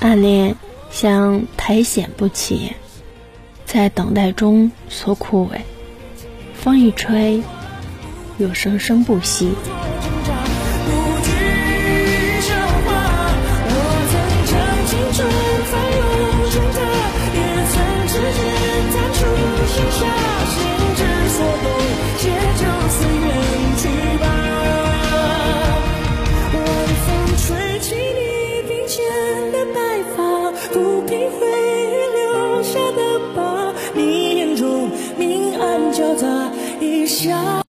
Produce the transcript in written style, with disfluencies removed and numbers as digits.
暗恋像苔藓不起，在等待中所枯萎，风一吹又生生不息。 不平回忆留下的疤，你眼中明暗交杂，一笑